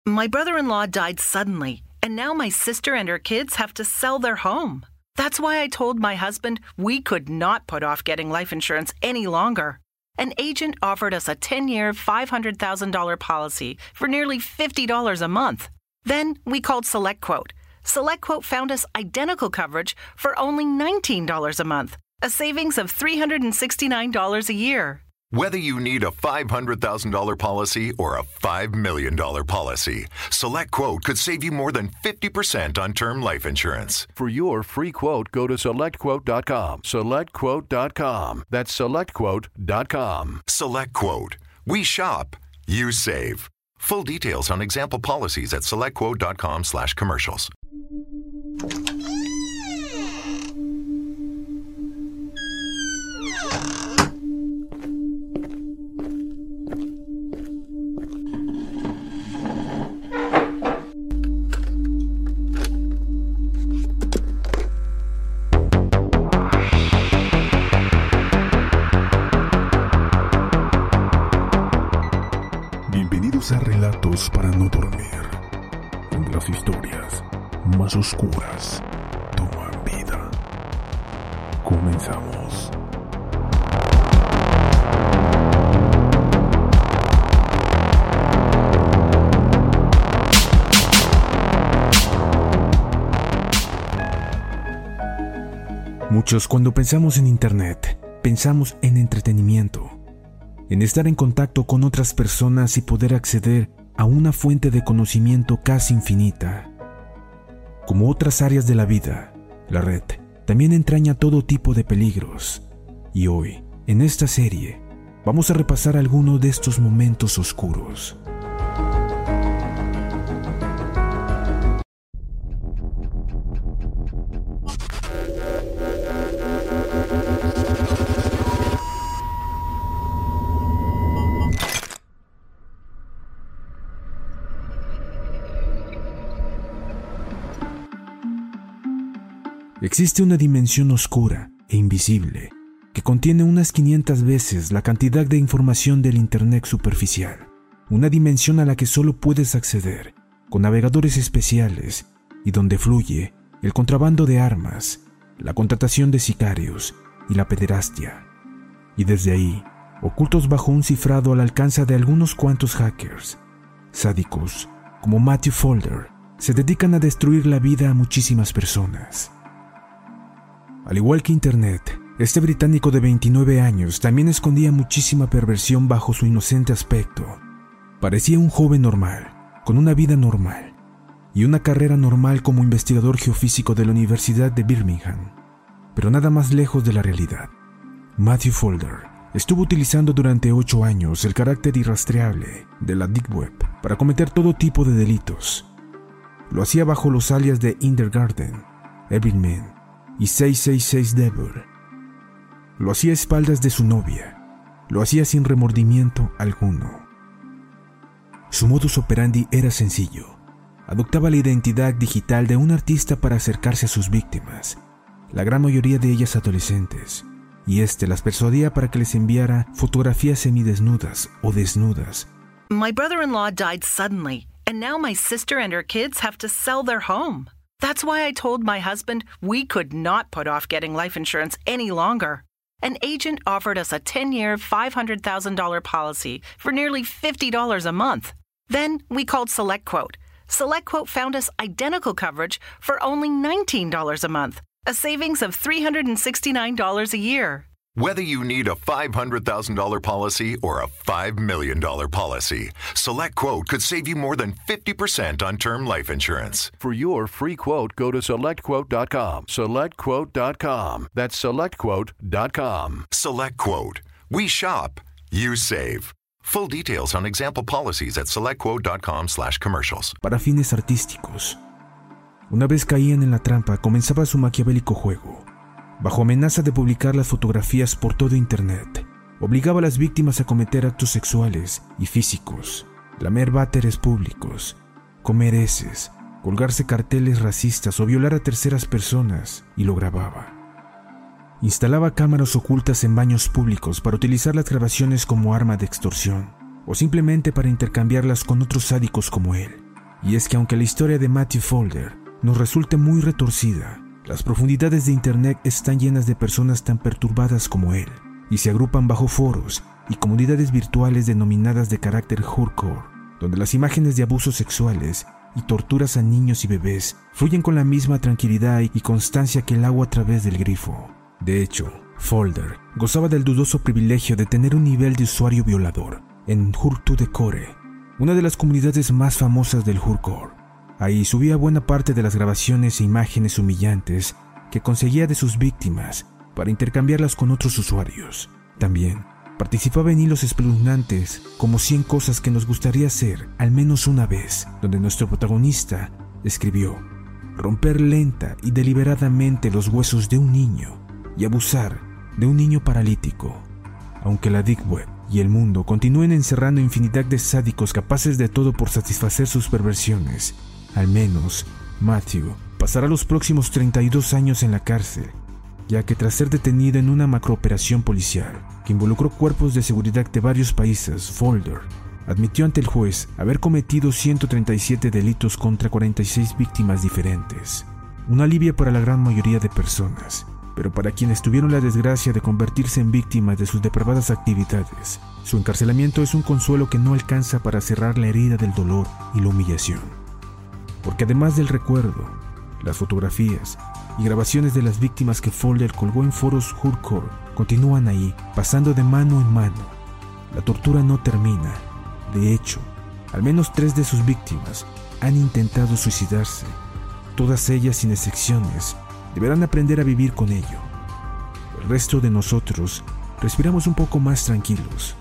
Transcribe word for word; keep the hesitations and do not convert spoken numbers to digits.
My brother-in-law died suddenly, and now my sister and her kids have to sell their home. That's why I told my husband we could not put off getting life insurance any longer. An agent offered us a ten-year, five hundred thousand dollars policy for nearly fifty dollars a month. Then we called SelectQuote. SelectQuote found us identical coverage for only nineteen dollars a month, a savings of three hundred sixty-nine dollars a year. Whether you need a five hundred thousand dollars policy or a five million dollars policy, SelectQuote could save you more than fifty percent on term life insurance. For your free quote, go to select quote dot com. select quote dot com. That's select quote dot com. SelectQuote. We shop, you save. Full details on example policies at select quote dot com slash commercials. Bienvenidos a Relatos para no dormir, donde las historias más oscuras toman vida. Comenzamos. Muchos, cuando pensamos en Internet, pensamos en entretenimiento, en estar en contacto con otras personas y poder acceder a una fuente de conocimiento casi infinita. Como otras áreas de la vida, la red también entraña todo tipo de peligros. Y hoy, en esta serie, vamos a repasar algunos de estos momentos oscuros. Existe una dimensión oscura e invisible que contiene unas quinientas veces la cantidad de información del Internet superficial. Una dimensión a la que solo puedes acceder con navegadores especiales y donde fluye el contrabando de armas, la contratación de sicarios y la pederastia. Y desde ahí, ocultos bajo un cifrado al alcance de algunos cuantos hackers, sádicos como Matthew Folder, se dedican a destruir la vida a muchísimas personas. Al igual que Internet, este británico de veintinueve años también escondía muchísima perversión bajo su inocente aspecto. Parecía un joven normal, con una vida normal, y una carrera normal como investigador geofísico de la Universidad de Birmingham, pero nada más lejos de la realidad. Matthew Folder estuvo utilizando durante ocho años el carácter irrastreable de la Deep Web para cometer todo tipo de delitos. Lo hacía bajo los alias de Indergarden, Evilman y seiscientos sesenta y seis Devil. Lo hacía a espaldas de su novia. Lo hacía sin remordimiento alguno. Su modus operandi era sencillo. Adoptaba la identidad digital de un artista para acercarse a sus víctimas, la gran mayoría de ellas adolescentes, y este las persuadía para que les enviara fotografías semidesnudas o desnudas. My brother-in-law died suddenly, and now my sister and her kids have to sell their home. That's why I told my husband we could not put off getting life insurance any longer. An agent offered us a ten-year, five hundred thousand dollars policy for nearly fifty dollars a month. Then we called SelectQuote. SelectQuote found us identical coverage for only nineteen dollars a month, a savings of three hundred sixty-nine dollars a year. Whether you need a five hundred thousand dollars policy or a five million dollars policy, SelectQuote could save you more than fifty percent on term life insurance. For your free quote, go to select quote dot com. select quote dot com. That's select quote dot com. SelectQuote. We shop, you save. Full details on example policies at select quote dot com slash commercials. Para fines artísticos. Una vez caían en la trampa, comenzaba su maquiavélico juego. Bajo amenaza de publicar las fotografías por todo Internet, obligaba a las víctimas a cometer actos sexuales y físicos, lamer váteres públicos, comer heces, colgarse carteles racistas o violar a terceras personas, y lo grababa. Instalaba cámaras ocultas en baños públicos para utilizar las grabaciones como arma de extorsión, o simplemente para intercambiarlas con otros sádicos como él. Y es que aunque la historia de Matthew Folder nos resulte muy retorcida, las profundidades de Internet están llenas de personas tan perturbadas como él, y se agrupan bajo foros y comunidades virtuales denominadas de carácter hardcore, donde las imágenes de abusos sexuales y torturas a niños y bebés fluyen con la misma tranquilidad y constancia que el agua a través del grifo. De hecho, Folder gozaba del dudoso privilegio de tener un nivel de usuario violador en Hurtu de Core, una de las comunidades más famosas del hardcore. Ahí subía buena parte de las grabaciones e imágenes humillantes que conseguía de sus víctimas para intercambiarlas con otros usuarios. También participaba en hilos espeluznantes como cien cosas que nos gustaría hacer al menos una vez, donde nuestro protagonista escribió: romper lenta y deliberadamente los huesos de un niño y abusar de un niño paralítico. Aunque la Deep Web y el mundo continúen encerrando infinidad de sádicos capaces de todo por satisfacer sus perversiones, al menos Matthew pasará los próximos treinta y dos años en la cárcel, ya que tras ser detenido en una macrooperación policial que involucró cuerpos de seguridad de varios países, Folder admitió ante el juez haber cometido ciento treinta y siete delitos contra cuarenta y seis víctimas diferentes. Un alivio para la gran mayoría de personas, pero para quienes tuvieron la desgracia de convertirse en víctimas de sus depravadas actividades, su encarcelamiento es un consuelo que no alcanza para cerrar la herida del dolor y la humillación. Porque además del recuerdo, las fotografías y grabaciones de las víctimas que Folder colgó en foros hardcore continúan ahí, pasando de mano en mano. La tortura no termina. De hecho, al menos tres de sus víctimas han intentado suicidarse. Todas ellas, sin excepciones, deberán aprender a vivir con ello. El resto de nosotros respiramos un poco más tranquilos.